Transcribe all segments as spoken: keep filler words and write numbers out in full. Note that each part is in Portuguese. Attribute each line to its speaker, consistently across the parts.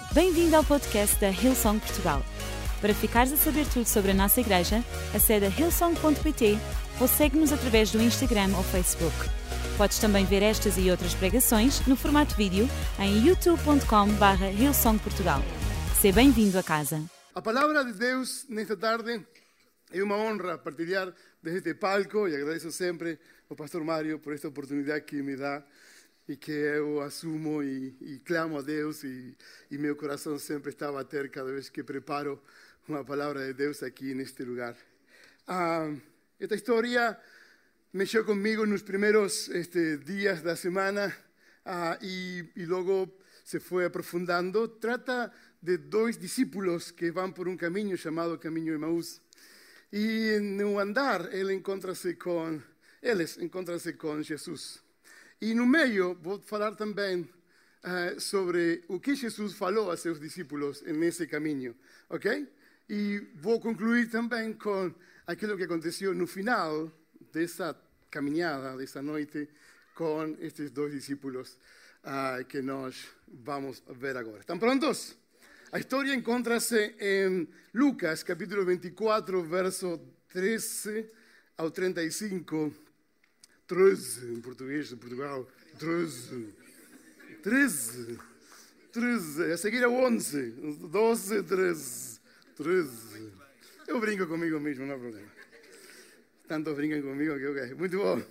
Speaker 1: Bem-vindo ao podcast da Hillsong Portugal. Para ficares a saber tudo sobre a nossa igreja, acede a hillsong ponto pt ou segue-nos através do Instagram ou Facebook. Podes também ver estas e outras pregações no formato vídeo em youtube ponto com barra hillsong portugal. Seja bem-vindo a casa.
Speaker 2: A palavra de Deus nesta tarde é uma honra partilhar desde este palco e agradeço sempre ao pastor Mário por esta oportunidade que me dá e que eu assumo e, e clamo a Deus e, e meu coração sempre está a bater cada vez que preparo uma palavra de Deus aqui neste lugar. Ah, esta história mexeu comigo nos primeiros este, dias da semana ah, e, e logo se foi aprofundando. Trata de dois discípulos que vão por um caminho chamado Caminho Emaús. E no andar ele encontra-se com, eles encontram-se com Jesus. E no meio vou falar também uh, sobre o que Jesus falou a seus discípulos nesse caminho, ok? E vou concluir também com aquilo que aconteceu no final dessa caminhada, dessa noite, com estes dois discípulos uh, que nós vamos ver agora. ¿Estão prontos? A história encontra-se em Lucas, capítulo veinticuatro, verso treze ao trinta e cinco. treze, em português de Portugal. treze. treze. treze. A seguir é onze. doze, treze. treze. Eu brinco comigo mesmo, não há problema. Tanto brincam comigo que ok. Muito bom.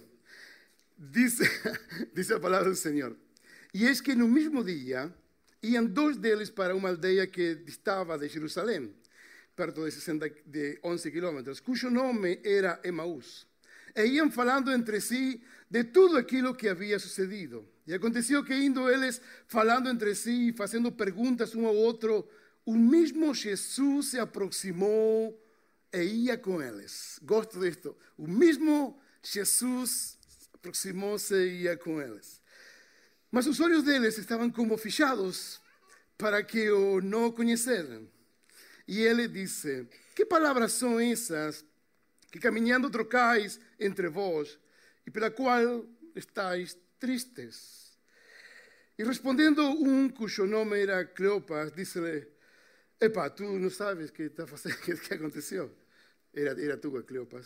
Speaker 2: Diz, diz a palavra do Senhor. E es que no mesmo dia iam dois deles para uma aldeia que distava de Jerusalém, perto de, sessenta, de onze quilômetros, cujo nome era Emaús. E iam falando entre si de tudo aquilo que havia sucedido. E aconteceu que indo eles falando entre si, fazendo perguntas um ao outro, o mesmo Jesus se aproximou e ia com eles. Gosto disto. O mesmo Jesus aproximou-se e ia com eles. Mas os olhos deles estavam como fechados para que o não conheceram. E ele disse: que palavras são essas que caminhando trocais entre vós, e pela qual estáis tristes? E respondendo um cujo nome era Cleopas, disse-lhe: epa, tu não sabes o que está fazendo, que, que aconteceu? Era, era tu, Cleopas.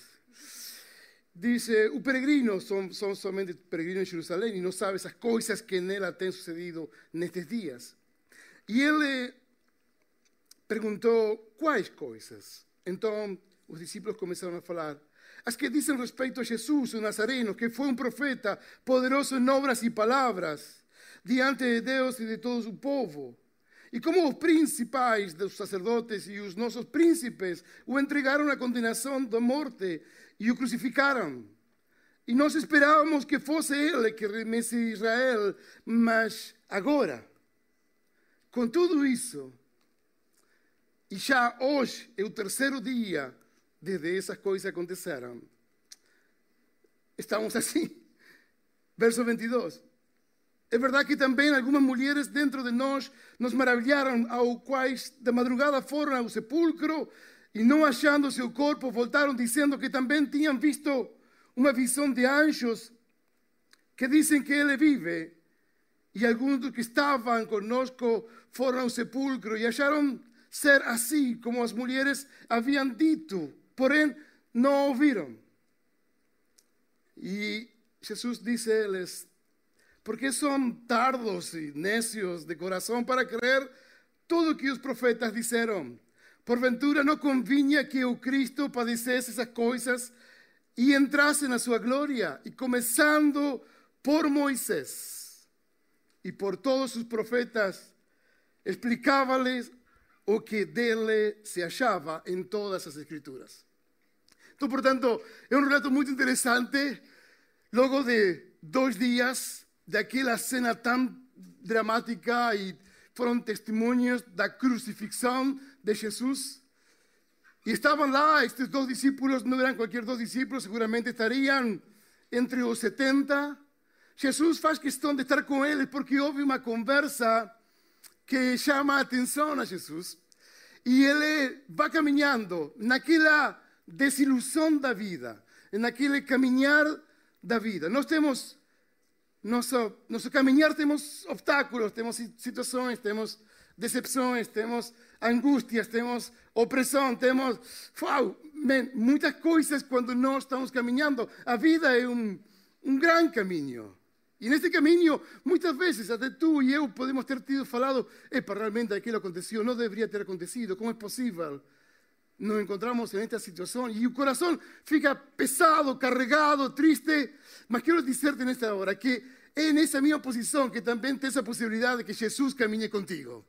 Speaker 2: Dice: o peregrino, são, são somente peregrinos em Jerusalém, e não sabes as coisas que nela têm sucedido nestes dias. E ele perguntou: quais coisas? Então os discípulos começaram a falar: as que dizem respeito a Jesus, o Nazareno, que foi um profeta, poderoso em obras e palavras, diante de Deus e de todo o povo. E como os principais dos sacerdotes e os nossos príncipes o entregaram à condenação da morte e o crucificaram. E nós esperávamos que fosse ele que remesse Israel, mas agora, com tudo isso, e já hoje é o terceiro dia desde essas coisas aconteceram, estamos assim. Verso veintidós. É verdade que também algumas mulheres dentro de nós nos maravilharam, ao quais de madrugada foram ao sepulcro e não achando seu corpo, voltaram dizendo que também tinham visto uma visão de anjos que dizem que ele vive. E alguns dos que estavam conosco foram ao sepulcro e acharam ser assim como as mulheres haviam dito, porém não ouviram. E Jesus disse a eles: porque são tardos e necios de coração para crer tudo o que os profetas disseram. Porventura não convinha que o Cristo padecesse essas coisas e entrasse na sua glória. E começando por Moisés e por todos os profetas, explicava-lhes o que dele se achava em todas as escrituras. Então, portanto, é um relato muito interessante. Logo de dois dias daquela cena tão dramática, e foram testemunhos da crucifixão de Jesus. E estavam lá estes dois discípulos, não eram qualquer dois discípulos, seguramente estariam entre os setenta. Jesus faz questão de estar com eles porque houve uma conversa que chama a atenção a Jesus. E ele vai caminhando naquela desilusão da vida, naquele caminhar da vida. Nós temos nosso, nosso caminhar temos obstáculos, temos situações, temos decepções, temos angústias, temos opressão, temos wow, man, muitas coisas quando nós estamos caminhando. A vida é um, um grande caminho. E nesse caminho, muitas vezes, até tu e eu podemos ter tido falado, epa, realmente aquilo aconteceu, não deveria ter acontecido, como é possível? Nos encontramos nesta situação e o coração fica pesado, carregado, triste. Mas quero dizer-te nesta hora que é nessa minha posição que também tens a possibilidade de que Jesus caminhe contigo.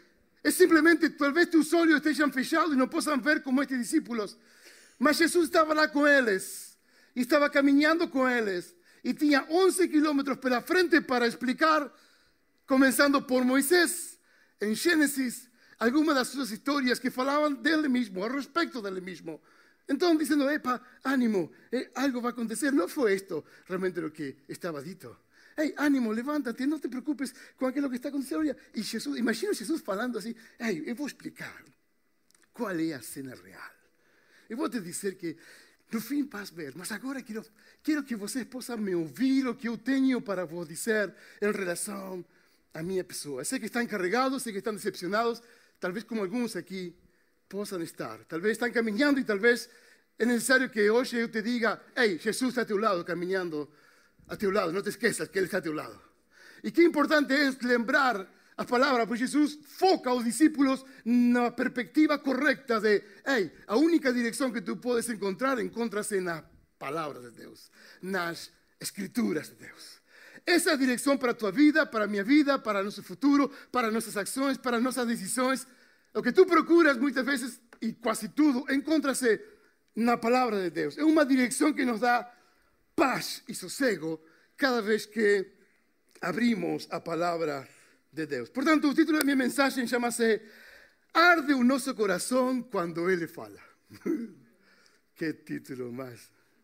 Speaker 2: É simplesmente, talvez teus olhos estejam fechados e não possam ver como estes discípulos. Mas Jesus estava lá com eles e estava caminhando com eles. E tinha onze quilômetros pela frente para explicar, começando por Moisés, em Gênesis, algumas das suas histórias que falavam dele mesmo, a respeito dele mesmo. Então, dizendo, epa, ánimo, eh, algo vai acontecer. Não foi isto realmente o que estava dito. Ei, ánimo, levanta-te, não te preocupes com aquilo que está acontecendo. Olha, e Jesus, imagina Jesus falando assim, ei, eu vou explicar qual é a cena real. Eu vou te dizer que no fim vais ver, mas agora quero, quero que vocês possam me ouvir o que eu tenho para vos dizer em relação à minha pessoa. Sei que estão encarregados, sei que estão decepcionados, talvez como alguns aqui possam estar. Talvez estão caminhando e talvez é necessário que hoje eu te diga, ei, Jesus está a teu lado, caminhando a teu lado, não te esqueças que Ele está a teu lado. E que importante é lembrar a palavra, porque Jesus foca os discípulos na perspectiva correta de, ei, a única direção que tu podes encontrar, encontra-se na palavra de Deus, nas escrituras de Deus. Essa é a direção para a tua vida, para a minha vida, para o nosso futuro, para nossas ações, para nossas decisões. O que tu procuras muitas vezes, e quase tudo, encontra-se na palavra de Deus. É uma direção que nos dá paz e sossego cada vez que abrimos a palavra de Deus. Portanto, o título da minha mensagem chama-se Arde o nosso coração quando Ele fala. Que título mais...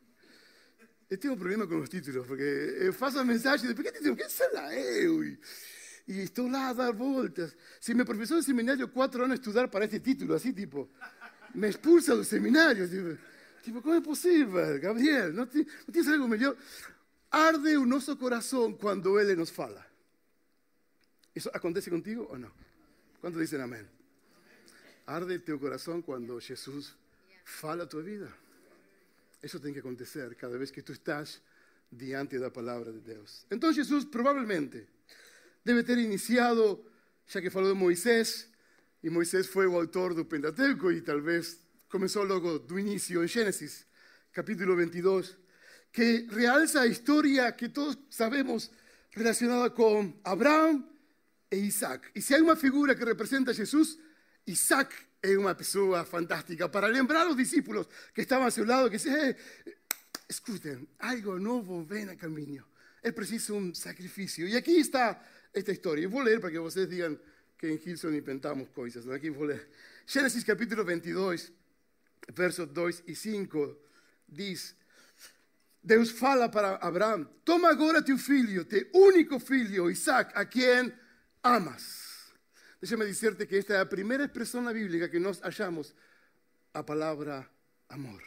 Speaker 2: Eu tenho um problema com os títulos, porque eu faço a mensagem e depois, que título? Que será eu? E, e estou lá a dar voltas. Se meu professor de seminário, quatro anos estudar para este título, assim, tipo, me expulsa do seminário. Tipo, tipo como é possível, Gabriel? Não, te, não tens algo melhor? Arde o nosso coração quando Ele nos fala. ¿Eso acontece contigo o no? ¿Cuántos dicen amén? Arde teu coração quando Jesus fala a tua vida. Isso tem que acontecer cada vez que tu estás diante da palavra de Deus. Então Jesus provavelmente deve ter iniciado, já que falou de Moisés, e Moisés foi o autor do Pentateuco, e talvez começou logo do início em Gênesis, capítulo veintidós, que realça a história que todos sabemos relacionada com Abraão e Isaac. E se há uma figura que representa a Jesus, Isaac é uma pessoa fantástica para lembrar os discípulos que estavam a seu lado, que dizem, eh, escutem, algo novo vem a caminho, é preciso um sacrifício. E aqui está esta história. Eu vou ler para que vocês digam que em Hilson inventamos coisas. Aqui vou ler. Gênesis capítulo veintidós, versos dois e cinco, diz, Deus fala para Abraão, toma agora teu filho, teu único filho, Isaac, a quem amas. Deixa-me dizer-te que esta é a primeira expressão na Bíblia que nós achamos a palavra amor.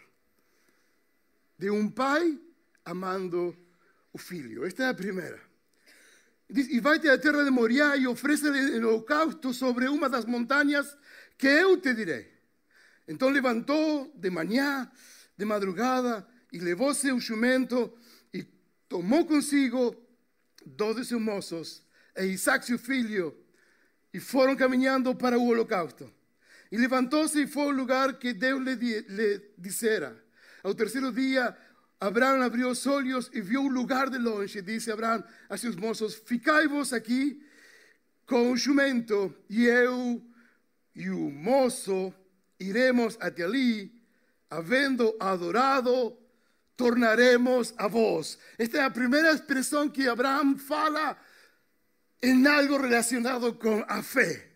Speaker 2: De um pai amando o filho. Esta é a primeira. Diz, e vai-te à terra de Moriá e oferece-lhe holocausto sobre uma das montanhas que eu te direi. Então levantou de manhã, de madrugada, e levou seu jumento e tomou consigo dois de seus moços e Isaac seu filho, e foram caminhando para o holocausto. E levantou-se e foi ao lugar que Deus lhe, lhe dissera. Ao terceiro dia, Abraão abriu os olhos e viu o lugar de longe. Disse Abraão a seus moços, ficai-vos aqui com o jumento, e eu e o moço iremos até ali, havendo adorado, tornaremos a vós. Esta é a primeira expressão que Abraão fala em algo relacionado com a fé.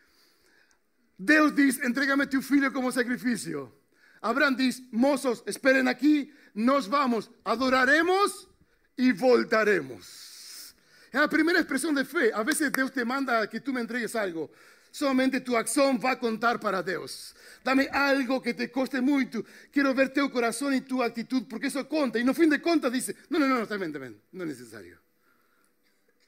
Speaker 2: Deus diz, entrega-me teu filho como sacrifício. Abraão diz, moços, esperem aqui, nós vamos, adoraremos e voltaremos. É a primeira expressão de fé. A vezes Deus te manda que tu me entregues algo. Somente tu ação vai contar para Deus. Dá-me algo que te custe muito. Quero ver teu coração e tua atitude, porque isso conta. E no fim de contas diz, não, não, não, está bem, está bem, não é necessário.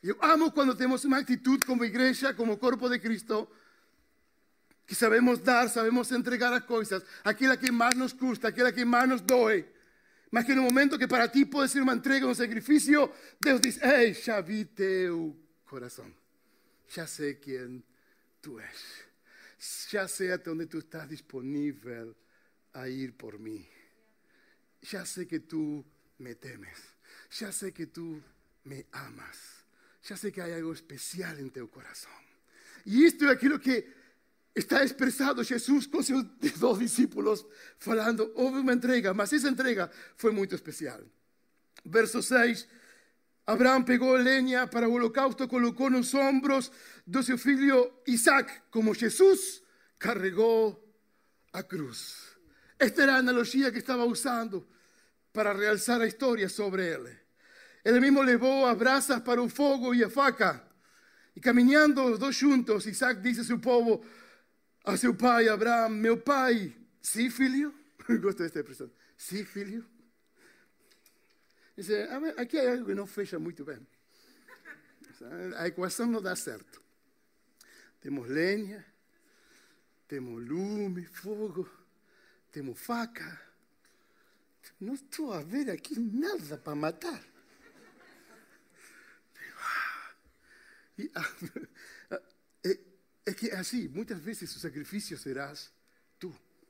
Speaker 2: Eu amo quando temos uma atitude como igreja, como corpo de Cristo, que sabemos dar, sabemos entregar as coisas, aquela que mais nos custa, aquela que mais nos doe. Mas que no momento que para ti pode ser uma entrega, um sacrifício, Deus diz, ei, já vi teu coração. Já sei quem tu és. Já sei até onde tu estás disponível a ir por mim. Já sei que tu me temes. Já sei que tu me amas. Já sei que há algo especial em teu coração. E isto é aquilo que está expressado Jesus com seus dois discípulos, falando, houve uma entrega, mas essa entrega foi muito especial. Verso seis, Abraão pegou lenha para o holocausto, colocou nos ombros do seu filho Isaac, como Jesus carregou a cruz. Esta era a analogia que estava usando para realçar a história sobre ele. Ele mesmo levou as brasas para o fogo e a faca. E caminhando os dois juntos, Isaac disse a seu povo, a seu pai Abraão, meu pai, sim, filho? Gosto desta expressão. Sim, filho? Dice, aqui há algo que não fecha muito bem. A equação não dá certo. Temos lenha, temos lume, fogo, temos faca. Não estou a ver aqui nada para matar. E, é, é que assim, muitas vezes o sacrifício serás tu.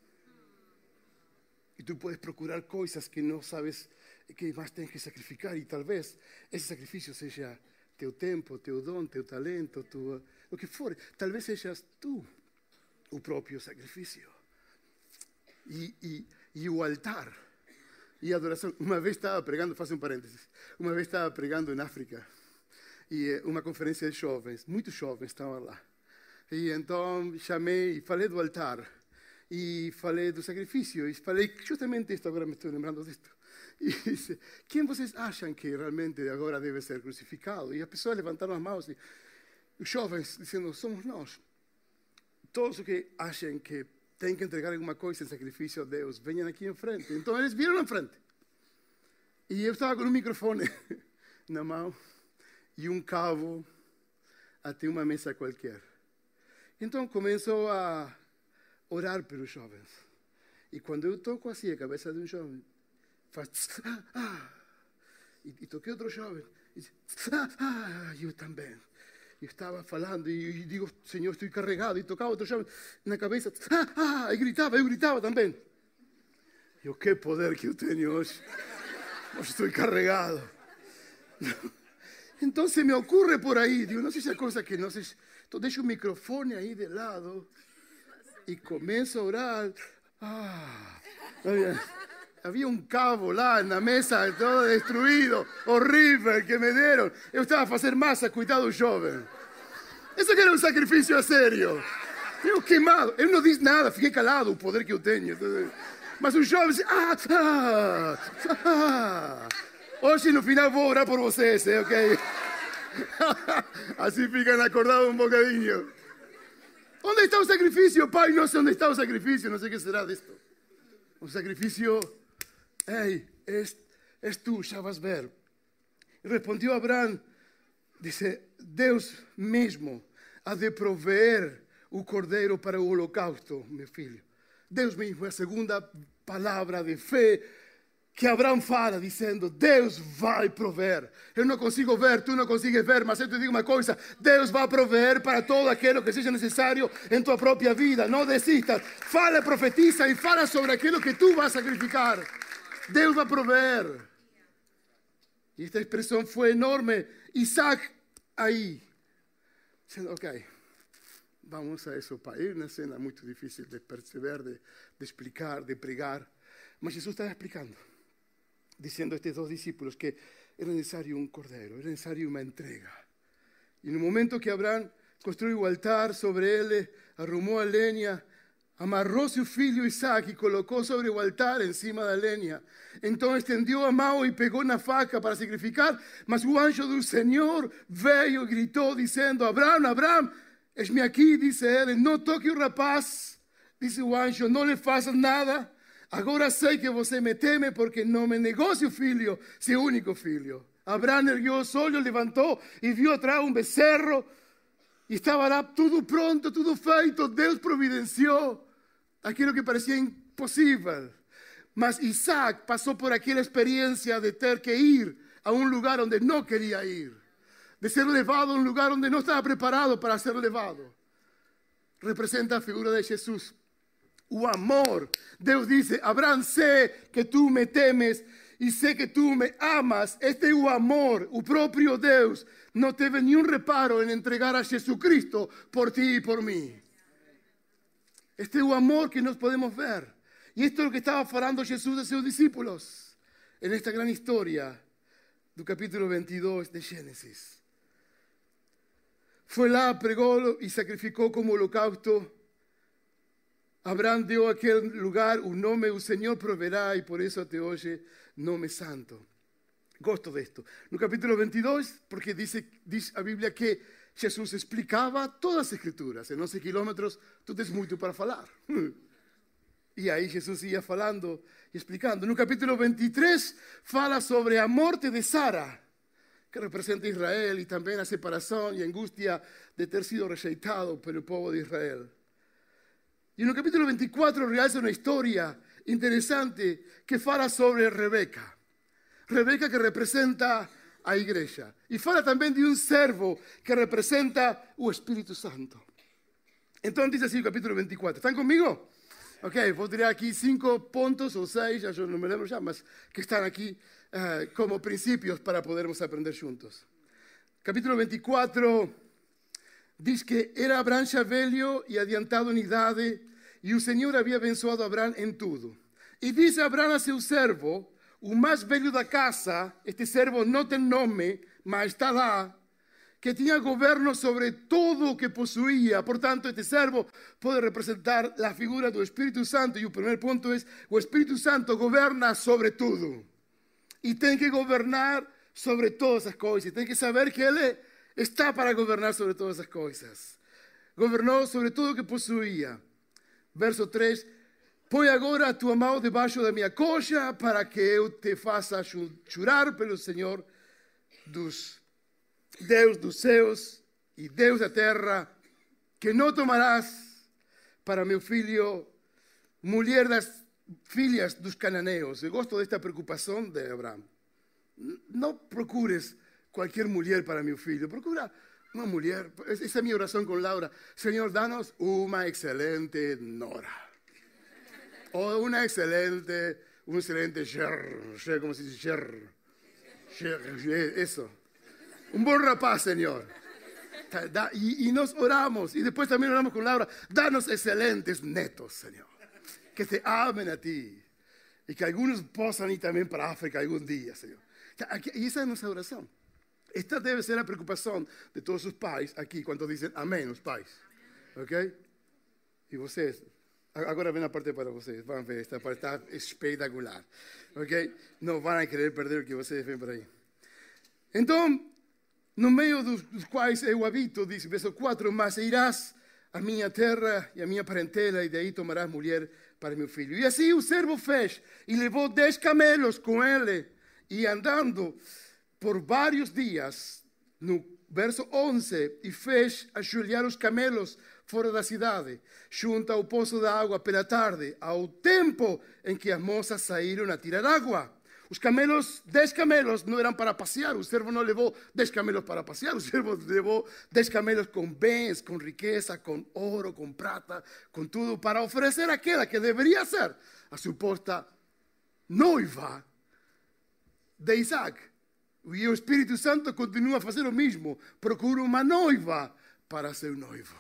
Speaker 2: E tu podes procurar coisas que não sabes que mais tens que sacrificar. E talvez esse sacrifício seja teu tempo, teu dom, teu talento, tua, o que for. Talvez sejas tu o próprio sacrifício. E, e, e o altar e a adoração. Uma vez estava pregando, faço um parênteses, uma vez estava pregando em África. E uma conferência de jovens, muitos jovens estavam lá. E então chamei e falei do altar. E falei do sacrifício. E falei justamente isto, agora me estou lembrando disto. E disse, quem vocês acham que realmente agora deve ser crucificado? E as pessoas levantaram as mãos. E os jovens dizendo, somos nós. Todos os que acham que têm que entregar alguma coisa em sacrifício a Deus, venham aqui em frente. Então eles viram em frente. E eu estava com um microfone na mão. E um cabo até uma mesa qualquer. Então começou a orar pelos jovens. E quando eu toco assim a cabeça de um jovem, faz ah, ah. E, e toquei outro jovem, e diz, ah, ah, eu também. Eu estava falando e, e digo, Senhor, estou carregado. E tocava outro jovem na cabeça, ah, ah, e gritava, eu gritava também. Eu, que poder que eu tenho hoje. Hoje estou carregado. Então se me ocorre por aí, digo, não sei se é coisa que não sei. Então deixo o microfone aí de lado e começo a orar. Ah, havia, havia um cabo lá na mesa, todo destruído, horrível, que me deram. Eu estava a fazer massa, cuidado do jovem. Isso que era um sacrifício a sério. Eu queimado, eu não disse nada, fiquei calado, o poder que eu tenho. Mas o jovem disse, ah, ah, ah. Hoje no final vou orar por vocês, ¿eh? Ok? Assim ficam acordados um bocadinho. Onde está o sacrifício? Pai, não sei onde está o sacrifício, não sei o que será disto. O sacrifício, ei, és, és tu, já vas ver. Respondeu Abraão, disse, Deus mesmo há de prover o cordeiro para o holocausto, meu filho. Deus mesmo é a segunda palavra de fé que Abraão fala, dizendo, Deus vai prover. Eu não consigo ver, tu não consegues ver, mas eu te digo uma coisa, Deus vai prover para todo aquilo que seja necessário em tua própria vida. Não desistas, fala, profetiza e fala sobre aquilo que tu vas sacrificar. Deus vai prover. E esta expressão foi enorme. Isaac aí, dizendo, ok, vamos a isso, pai. É uma cena muito difícil de perceber, de, de explicar, de pregar. Mas Jesus estava explicando, dizendo a estes dois discípulos que era necessário um cordeiro, era necessário uma entrega. E no momento que Abraão construiu o altar sobre ele, arrumou a lenha, amarrou seu filho Isaac e colocou sobre o altar em cima da lenha. Então estendeu a mão e pegou na faca para sacrificar, mas o anjo do Senhor veio e gritou dizendo, Abraão, Abraão, eis-me aqui, disse ele, não toque o rapaz, disse o anjo, não lhe faças nada. Agora sei que você me teme porque não me negou seu filho, seu único filho. Abraham erguiu os olhos, levantou e viu atrás um becerro. E estava lá tudo pronto, tudo feito. Deus providenciou aquilo que parecia impossível. Mas Isaac passou por aquela experiência de ter que ir a um lugar onde não queria ir. De ser levado a um lugar onde não estava preparado para ser levado. Representa a figura de Jesus. O amor. Deus disse, Abraham, sei que tu me temes e sei que tu me amas. Este é o amor. O próprio Deus não teve nenhum reparo em entregar a Jesucristo por ti e por mim. Este é o amor que nós podemos ver. E isto é o que estava falando Jesus a seus discípulos. En esta gran historia do capítulo veintidós de Gênesis. Foi lá, pregou e sacrificou como holocausto. Abraham deu àquele lugar o nome, o Senhor proverá, e por isso até hoje, nome santo. Gosto disto. No capítulo veintidós, porque diz, diz a Bíblia que Jesus explicava todas as Escrituras. Em onze quilômetros, tu tens muito para falar. E aí Jesus ia falando e explicando. No capítulo veintitrés, fala sobre a morte de Sara, que representa Israel, e também a separação e a angústia de ter sido rejeitado pelo povo de Israel. E no capítulo veinticuatro realça uma história interessante que fala sobre Rebeca. Rebeca que representa a igreja. E fala também de um servo que representa o Espírito Santo. Então diz assim o capítulo veinticuatro. ¿Están comigo? Ok, vou tirar aqui cinco pontos ou seis, eu não me lembro já, mas que estão aqui uh, como princípios para podermos aprender juntos. Capítulo veinticuatro diz que era Abraham já velho e adiantado em idade, e o Senhor havia abençoado a Abraham em tudo. E disse Abraham a seu servo, o mais velho da casa, este servo não tem nome, mas está lá, que tinha governo sobre todo o que possuía. Portanto, este servo pode representar a figura do Espírito Santo. E o primeiro ponto é, o Espírito Santo governa sobre tudo. E tem que governar sobre todas as coisas. Tem que saber que Ele está para governar sobre todas as coisas. Governou sobre tudo o que possuía. Verso três. Põe agora a tua mão debaixo da minha coxa para que eu te faça jurar pelo Senhor dos Deus dos céus e Deus da terra, que não tomarás para meu filho mulher das filhas dos cananeus. Eu gosto desta preocupação de Abraão. Não procures qualquer mulher para meu filho. Procura uma mulher. Essa é a minha oração com Laura. Senhor, dá-nos uma excelente nora. Ou uma excelente, um excelente cher, como se diz cher. Cher, isso. Um bom rapaz, Senhor. E, e nós oramos, e depois também oramos com Laura, dá-nos excelentes netos, Senhor, que te amem a ti, e que alguns possam ir também para a África algum dia, Senhor. E essa é a nossa oração. Esta deve ser a preocupação de todos os pais aqui, quando dizem amém, os pais. Ok? E vocês, agora vem a parte para vocês, vão ver, esta parte está espetacular. Ok? Não vão querer perder o que vocês vêm por aí. Então, no meio dos, dos quais eu habito, diz verso quatro, mas irás à minha terra e à minha parentela, e daí tomarás mulher para meu filho. E assim o servo fez, e levou dez camelos com ele, e andando por vários dias, no verso onze, e fez ajoelhar os camelos fora da cidade, junto ao poço da água pela tarde, ao tempo em que as moças saíram a tirar água. Os camelos, dez camelos, não eram para passear. O servo não levou dez camelos para passear. O servo levou dez camelos com bens, com riqueza, com ouro, com prata, com tudo, para oferecer aquela que deveria ser a suposta noiva de Isaac. E o Espírito Santo continua a fazer o mesmo. Procura uma noiva para seu noivo.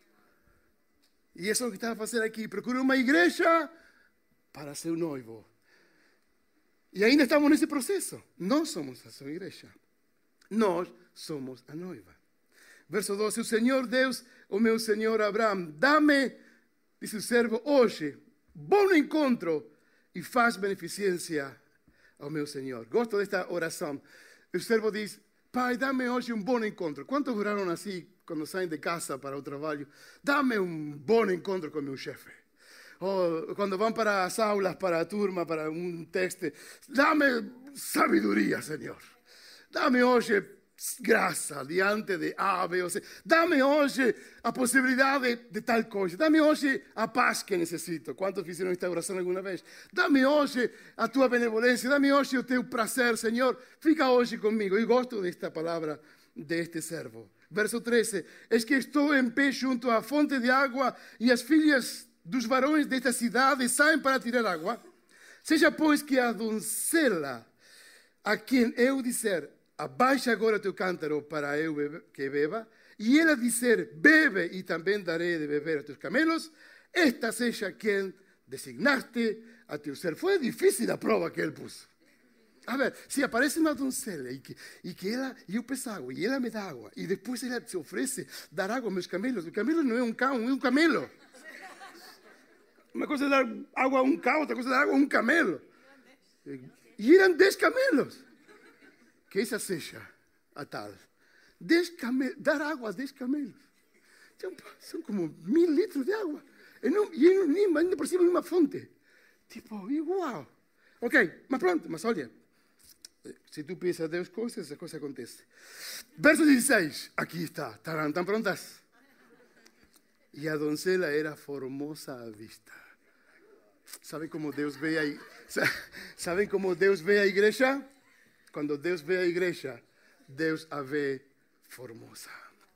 Speaker 2: E isso é o que está a fazer aqui. Procura uma igreja para seu noivo. E ainda estamos nesse processo. Nós somos a sua igreja. Nós somos a noiva. Verso doze. O Senhor Deus, o meu Senhor Abraão, dá-me, diz o servo, hoje, bom encontro e faz beneficência ao meu Senhor. Gosto desta oração. O servo diz, Pai, dá-me hoje um bom encontro. Quantos oraram assim quando saem de casa para o trabalho? Dá-me um bom encontro com meu chefe. Ou quando vão para as aulas, para a turma, para um teste, dá-me sabedoria, Senhor. Dá-me hoje graça diante de A, B ou C. Dá-me hoje a possibilidade de, de tal coisa. Dá-me hoje a paz que necessito. Quantos fizeram esta oração alguma vez? Dá-me hoje a tua benevolência. Dá-me hoje o teu prazer, Senhor. Fica hoje comigo. Eu gosto desta palavra deste servo. Verso treze. Es que estou em pé junto à fonte de água e as filhas dos varões desta cidade saem para tirar água. Seja, pois, que a doncela a quem eu disser, abaixa agora teu cântaro para eu bebe, que beba, e ela disser, bebe e também darei de beber a teus camelos, esta seja quem designaste a teu ser. Foi difícil a prova que ele pôs. A ver, se aparece uma doncela e que, e que ela, e eu peço água, e ela me dá água, e depois ela se oferece dar água aos meus camelos. O camelo não é um cão, é um camelo. Uma coisa é dar água a um cão, outra coisa é dar água a um camelo. E eram dez camelos. Que essa seja a tal. Dez camelos, dar água a dez camelos. São como mil litros de água. E, não, e não, ainda por cima de uma fonte. Tipo, uau. Ok, mas pronto, mas olha. Se tu pedes a Deus coisas, essa coisa acontece. Verso dezesseis. Aqui está. ¿Están, están prontas? E a doncela era formosa à vista. ¿Saben como Deus vê a, ¿Saben como Deus vê a igreja? Quando Deus vê a igreja, Deus a vê formosa.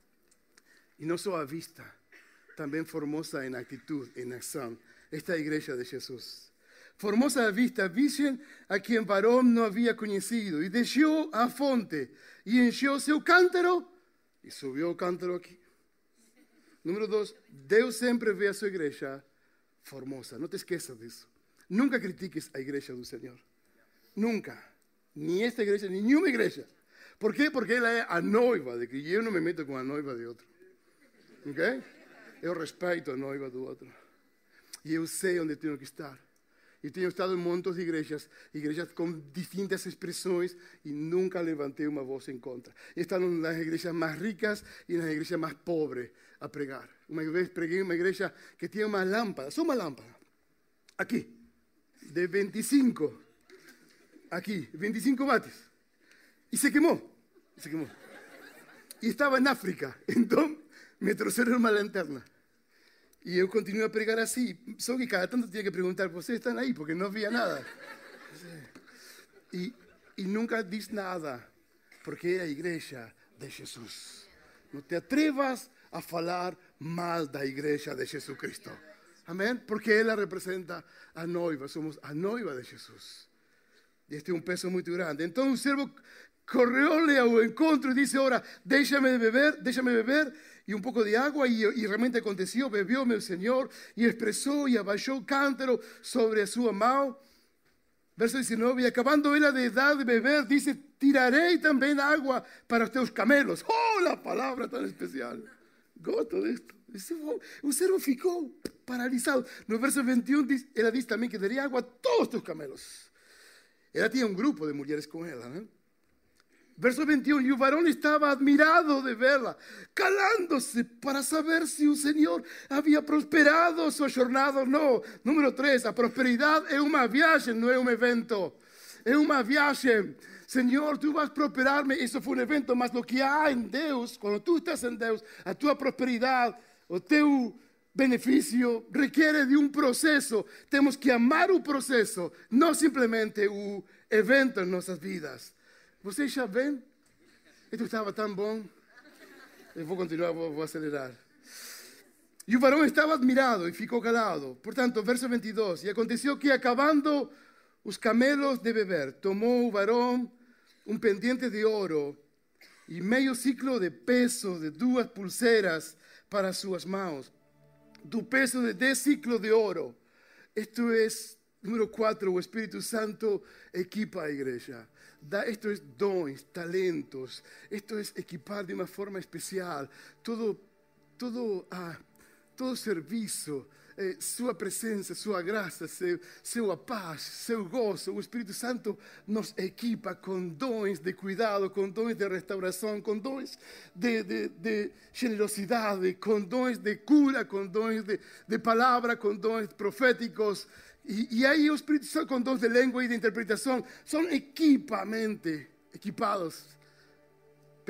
Speaker 2: E não só à vista, também formosa em atitude, em ação. Esta é a igreja de Jesus. Formosa à vista, virgem a quem varão não havia conhecido. E deixou a fonte e encheu seu cântaro e subiu o cântaro aqui. Número dois, Deus sempre vê a sua igreja formosa. Não te esqueças disso. Nunca critiques a igreja do Senhor. Nunca. Ni esta igreja, ni nenhuma igreja. ¿Por quê? Porque ela é a noiva de Cristo. E eu não me meto com a noiva de outro. Ok? Eu respeito a noiva do outro. E eu sei onde tenho que estar. E tenho estado em montes de igrejas, igrejas com distintas expressões, e nunca levantei uma voz em contra. He estado nas igrejas mais ricas e nas igrejas mais pobres a pregar. Uma vez preguei em uma igreja que tinha uma lâmpada, só uma lâmpada, aqui, de veinticinco, aqui, veinticinco watts, e se queimou, se queimou. E estava em África, então me trouxeram uma lanterna. E eu continuei a pregar assim, só que cada tanto tinha que perguntar, vocês estão aí? Porque não via nada. E, e nunca disse nada, porque é a igreja de Jesus. Não te atrevas a falar mal da igreja de Jesus Cristo. Amém? Porque ela representa a noiva, somos a noiva de Jesus. E este é um peso muito grande. Então o servo correu-lhe ao encontro e disse, ora, deixa-me beber, deixa-me beber, e um pouco de água, e, e realmente aconteceu, bebeu meu Senhor, e expressou e abaixou o cântaro sobre a sua mão. Verso dezenove, e acabando ela de dar de beber, disse, tirarei também água para os teus camelos. Oh, a palavra tão especial. Gosto disto. O servo ficou paralisado. No verso vinte e um, ela disse também que daria água a todos os teus camelos. Ela tinha um grupo de mulheres com ela, né? Verso vinte e um, e o varão estava admirado de vê-la, calando-se para saber se o Senhor havia prosperado sua jornada ou não. Número três, a prosperidade é uma viagem, não é um evento. É uma viagem. Senhor, tu vas prosperar-me. Isso foi um evento, mas o que há em Deus, quando tu estás em Deus, a tua prosperidade, o teu benefício requer de um processo. Temos que amar o processo, não simplesmente o evento em nossas vidas. Vocês já veem? Isto estava tão bom. Eu vou continuar, vou, vou acelerar. E o varão estava admirado e ficou calado. Portanto, verso vinte e dois. E aconteceu que, acabando os camelos de beber, tomou o varão um pendente de ouro e meio ciclo de peso de duas pulseiras para suas mãos, do peso de dez ciclos de ouro. Isto é, número quatro, o Espírito Santo equipa a igreja. Da, esto es dons, talentos, esto es equipar de uma forma especial, todo, todo, ah, todo serviço, eh, sua presença, sua graça, seu, sua paz, seu gozo. O Espírito Santo nos equipa com dons de cuidado, com dons de restauração, com dons de, de, de generosidade, com dons de cura, com dons de, de palavra, com dons proféticos. E, e aí o Espírito Santo com dons de língua e de interpretação são equipamente equipados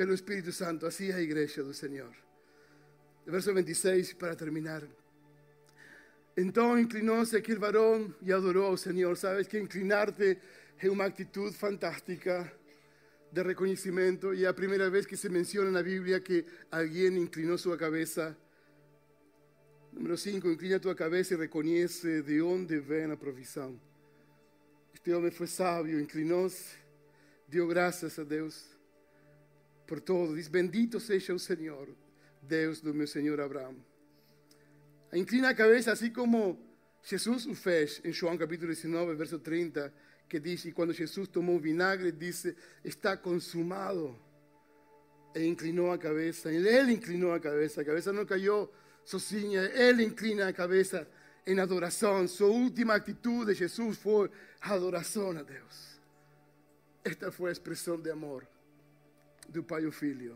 Speaker 2: pelo Espírito Santo. Assim é a igreja do Senhor. Verso vinte e seis, para terminar. Então inclinou-se aquele varão e adorou ao Senhor. Sabes que inclinar-te é uma atitude fantástica de reconhecimento. E é a primeira vez que se menciona na Bíblia que alguém inclinou sua cabeça. Número cinco, inclina tua cabeça e reconhece de onde vem a provisão. Este homem foi sábio, inclinou-se, deu graças a Deus por todo. Diz, bendito seja o Senhor, Deus do meu Senhor Abraão. Inclina a cabeça assim como Jesus o fez em João capítulo dezenove, verso trinta, que diz, e quando Jesus tomou o vinagre, disse, está consumado. E inclinou a cabeça, ele inclinou a cabeça, a cabeça não caiu sozinha, ele inclina a cabeça em adoração. Sua última atitude de Jesus foi adoração a Deus. Esta foi a expressão de amor do pai e o filho.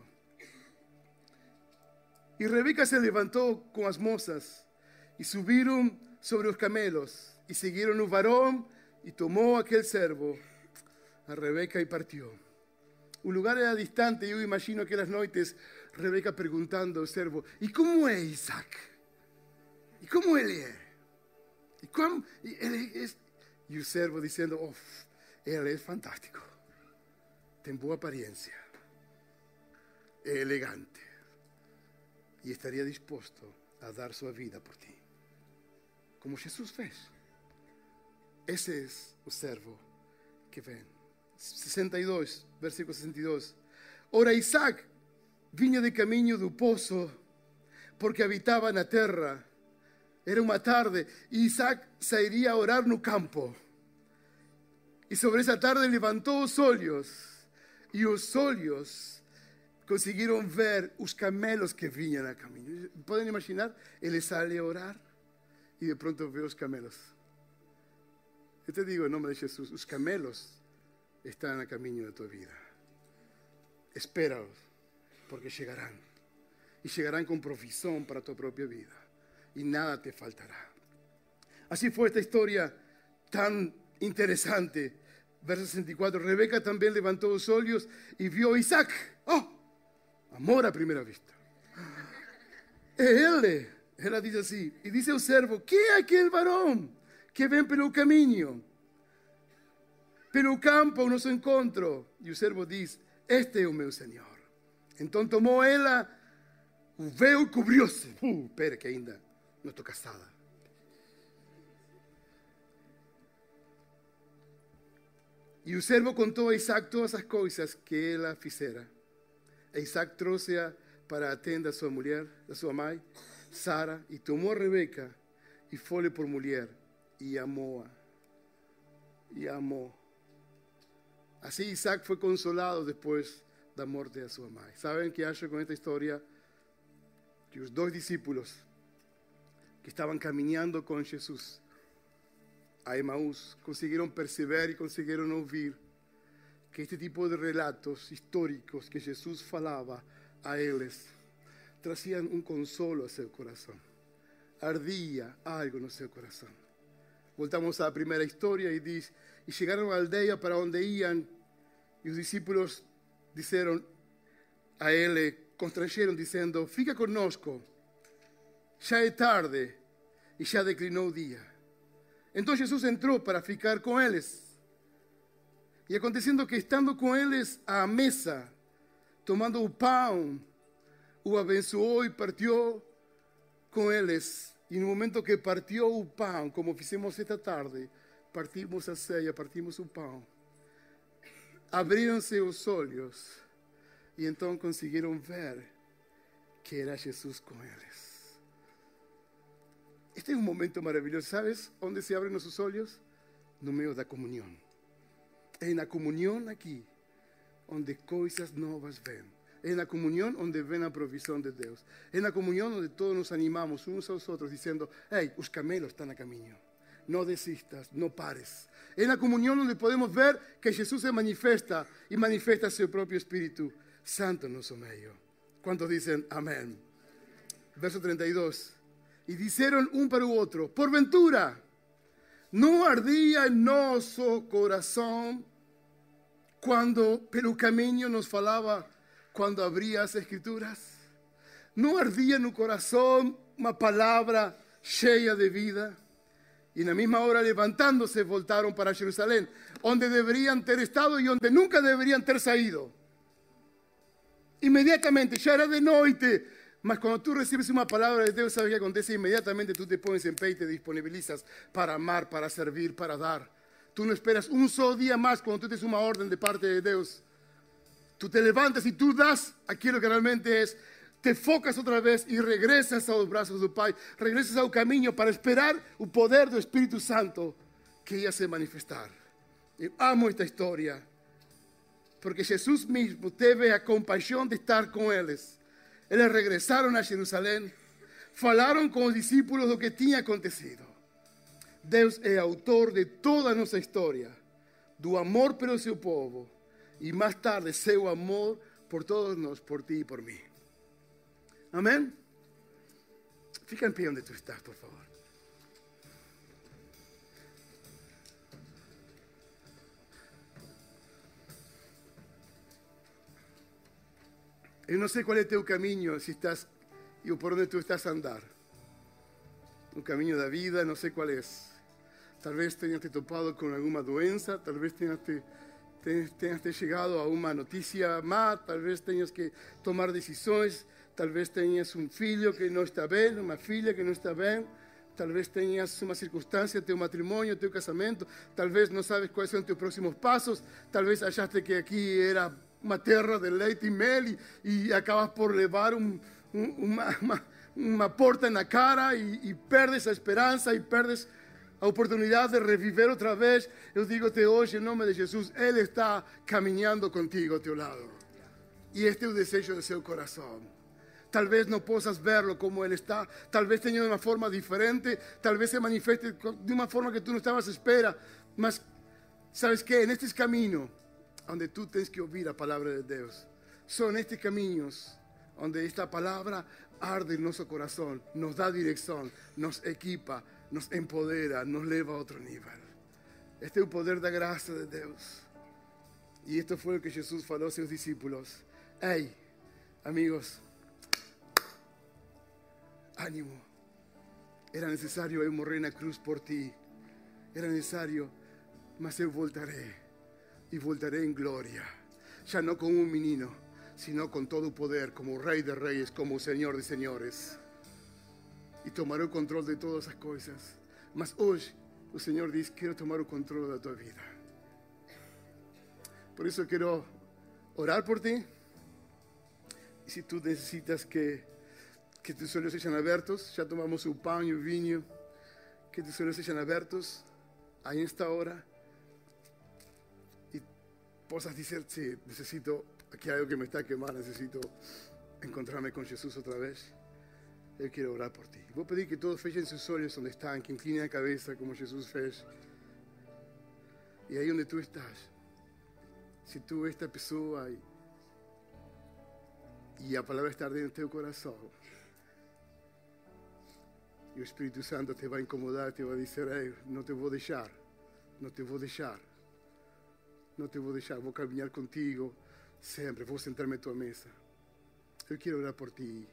Speaker 2: E Rebeca se levantou com as moças e subiram sobre os camelos e seguiram o varão e tomou aquele servo, a Rebeca, e partiu. O lugar era distante e eu imagino aquelas noites Rebeca perguntando ao servo, e como é Isaac? E como ele é? E, como, e, ele é? E o servo dizendo, oh, ele é fantástico, tem boa aparência, é elegante e estaria disposto a dar sua vida por ti, como Jesus fez. Esse é o servo que vem. sessenta e dois, versículo sessenta e dois. Ora, Isaac vinha de caminho do poço, porque habitava na terra. Era uma tarde, e Isaac sairia a orar no campo. E sobre essa tarde levantou os olhos, e os olhos conseguiram ver os camelos que vinham a caminho. Podem imaginar? Ele sai a orar, e de pronto vê os camelos. Eu te digo em nome de Jesus, os camelos estão a caminho de tua vida. Espera-os, porque chegarão. E chegarão com provisão para tua própria vida. E nada te faltará. Assim foi esta história tão interessante. Verso sessenta e quatro. Rebeca também levantou os olhos e viu a Isaac. Oh, amor à primeira vista. É ele. Ela diz assim. E diz ao servo, que é aquele varão que vem pelo caminho, pelo campo ao nosso encontro? E o servo diz, este é o meu Senhor. Então tomou ela o véu e cobriu-se. Uh, espera que ainda não estou casada. E o servo contou a Isaac todas as coisas que ela fizera. E Isaac trouxe-a para a tenda da sua mulher, da sua mãe, Sara, e tomou a Rebeca e foi-lhe por mulher. E amou-a. E amou. Assim Isaac foi consolado depois da morte de sua mãe. ¿Saben qué acho con esta historia? Que os dois discípulos que estavam caminhando com Jesus a Emaús conseguiram perceber e conseguiram ouvir que este tipo de relatos históricos que Jesus falava a eles traziam um consolo a seu coração. Ardia algo no seu coração. Voltamos à primeira história e diz, e chegaram à aldeia para onde iam, e os discípulos disseram a ele, constrangeram dizendo, fica conosco, já é tarde e já declinou o dia. Então Jesus entrou para ficar com eles. E acontecendo que estando com eles à mesa, tomando o pão, o abençoou e partiu com eles. E no momento que partiu o pão, como fizemos esta tarde, partimos a ceia, partimos o pão, abriram-se os olhos e então conseguiram ver que era Jesus com eles. Este é um momento maravilhoso. ¿Sabes onde se abrem nossos olhos? No meio da comunhão. É na comunhão aqui onde coisas novas vêm. É na comunhão onde vem a provisão de Deus. É na comunhão onde todos nos animamos uns aos outros, dizendo, ei, os camelos estão a caminho. Não desistas, não pares. É na comunhão onde podemos ver que Jesus se manifesta e manifesta seu próprio Espírito Santo no nosso meio. Quantos dizem amém? Verso trinta e dois. E disseram um para o outro, porventura, não ardia em nosso coração quando pelo caminho nos falava, quando abria as escrituras? Não ardia no coração uma palavra cheia de vida? E na mesma hora, levantando-se, voltaram para Jerusalém, onde deveriam ter estado e onde nunca deveriam ter saído. Imediatamente, já era de noite, mas quando tú recibes uma palavra de Deus, ¿sabes o que acontece? Imediatamente tú te pones en pé y te disponibilizas para amar, para servir, para dar. Tú no esperas un solo día más cuando tú tienes una orden de parte de Dios. Tú te levantas y tú das aquilo que realmente es. Te focas outra vez e regressas aos braços do Pai. Regressas ao caminho para esperar o poder do Espírito Santo que ia se manifestar. Eu amo esta história, porque Jesus mesmo teve a compaixão de estar com eles. Eles regressaram a Jerusalém, falaram com os discípulos do que tinha acontecido. Deus é autor de toda a nossa história, do amor pelo seu povo e mais tarde seu amor por todos nós, por ti e por mim. Amém? Fica em pé onde tu estás, por favor. Eu não sei qual é o teu caminho, se estás, e por onde tu estás a andar. O caminho da vida, não sei qual é. Talvez tenhas te topado com alguma doença, talvez tenhas te, tenhas, tenhas te chegado a uma notícia má, talvez tenhas que tomar decisões, talvez tenhas um filho que não está bem, uma filha que não está bem, talvez tenhas uma circunstância, teu matrimônio, teu casamento, talvez não sabes quais são teus próximos passos, talvez achaste que aqui era uma terra de leite e mel e, e acabas por levar um, um, uma, uma, uma porta na cara e, e perdes a esperança e perdes a oportunidade de reviver outra vez. Eu digo-te hoje, em nome de Jesus, Ele está caminhando contigo ao teu lado. E este é o desejo do seu coração. Talvez não possas verlo como Ele está, talvez tenha de uma forma diferente, talvez se manifeste de uma forma que tu não estavas à espera, mas sabes que nestes caminhos onde tu tens que ouvir a palavra de Deus, são nestes caminhos onde esta palavra arde em nosso coração, nos dá direção, nos equipa, nos empodera, nos leva a outro nível. Este é o poder da graça de Deus. E isto foi o que Jesus falou aos seus discípulos. Ei, amigos, ánimo. Era necessário eu morrer na cruz por ti. Era necessário, mas eu voltarei. E voltarei em glória. Já não como um menino, sino com todo o poder, como o Rei de Reis, como o Senhor de Senhores. E tomarei o controle de todas as coisas. Mas hoje, o Senhor diz, quero tomar o controle da tua vida. Por isso eu quero orar por ti. E se tu necessitas que que tus olhos sejam abertos, já tomamos o pão e o vinho, que tus olhos sejam abertos aí nesta hora e possas dizer, sí, necessito, aqui há algo que me está queimando, necessito encontrar-me com Jesus outra vez. Eu quero orar por ti. Vou pedir que todos fechem seus olhos onde estão, que inclinem a cabeça como Jesus fez. E aí onde tu estás, se tu esta pessoa e, e a palavra está dentro do teu coração, e o Espírito Santo te vai incomodar, te vai dizer, ei, não te vou deixar, não te vou deixar, não te vou deixar, vou caminhar contigo sempre, vou sentar-me à tua mesa. Eu quero orar por ti.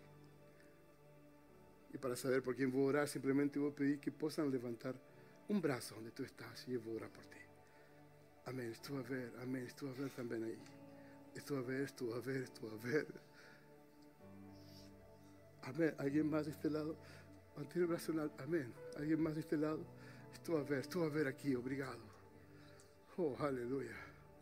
Speaker 2: E para saber por quem vou orar, simplesmente vou pedir que possam levantar um braço onde tu estás e eu vou orar por ti. Amém, estou a ver, amém, estou a ver também aí. Estou a ver, estou a ver, estou a ver. Amém, alguém mais deste lado? Manter o braço na... Amém. Alguém mais deste lado? Estou a ver, estou a ver aqui, obrigado. Oh, aleluia.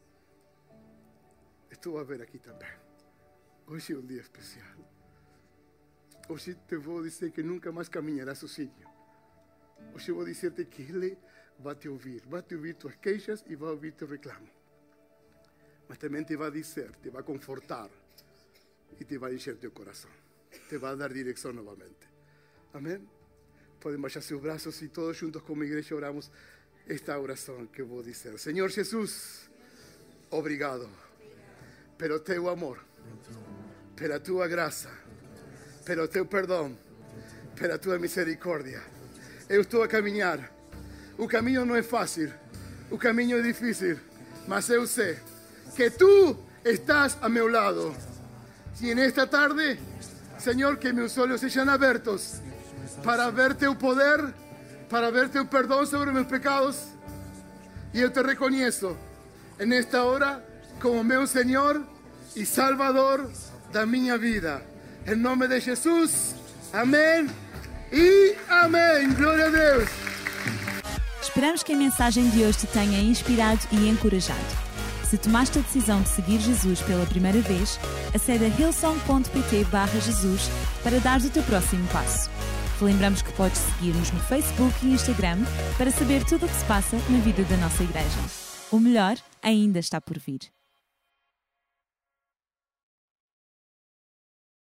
Speaker 2: Estou a ver aqui também. Hoje é um dia especial. Hoje te vou dizer que nunca mais caminharás sozinho. Hoje vou dizer-te que Ele vai te ouvir. Vai te ouvir tuas queixas e vai ouvir teu reclamo. Mas também te vai dizer, te vai confortar e te vai encher teu coração. Te vai dar direção novamente. Amém? Podem baixar seus braços e todos juntos como igreja oramos esta oração que eu vou dizer. Senhor Jesus, obrigado pelo teu amor, pela tua graça, pelo teu perdão, pela tua misericórdia. Eu estou a caminhar. O caminho não é fácil, o caminho é difícil, mas eu sei que tu estás a meu lado. Y en esta tarde, Señor, que mis ojos sean abiertos para ver tu poder, para ver tu perdón sobre mis pecados. Y yo te reconozco en esta hora como mi Señor y Salvador de mi vida. En nombre de Jesús, amén e amém. Glória a Deus.
Speaker 1: Esperamos que a mensagem de hoje te tenha inspirado e encorajado. Se tomaste a decisão de seguir Jesus pela primeira vez, acede a hillsong ponto pt barra Jesus para dar o teu próximo passo. Te lembramos que podes seguir-nos no Facebook e Instagram para saber tudo o que se passa na vida da nossa igreja. O melhor ainda está por vir.